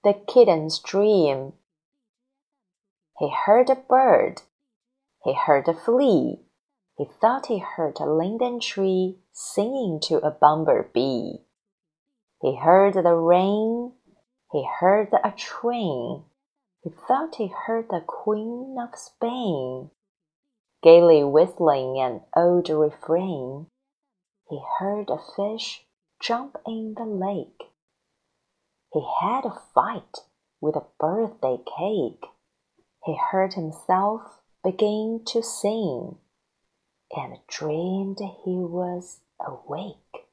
The kitten's dream. He heard a bird. He heard a flea. He thought he heard a linden tree singing to a bumblebee. He heard the rain. He heard a train. He thought he heard the Queen of Spain gaily whistling an old refrain. He heard a fish jump in the lake. He had a fight with a birthday cake. He heard himself begin to sing, and dreamed he was awake.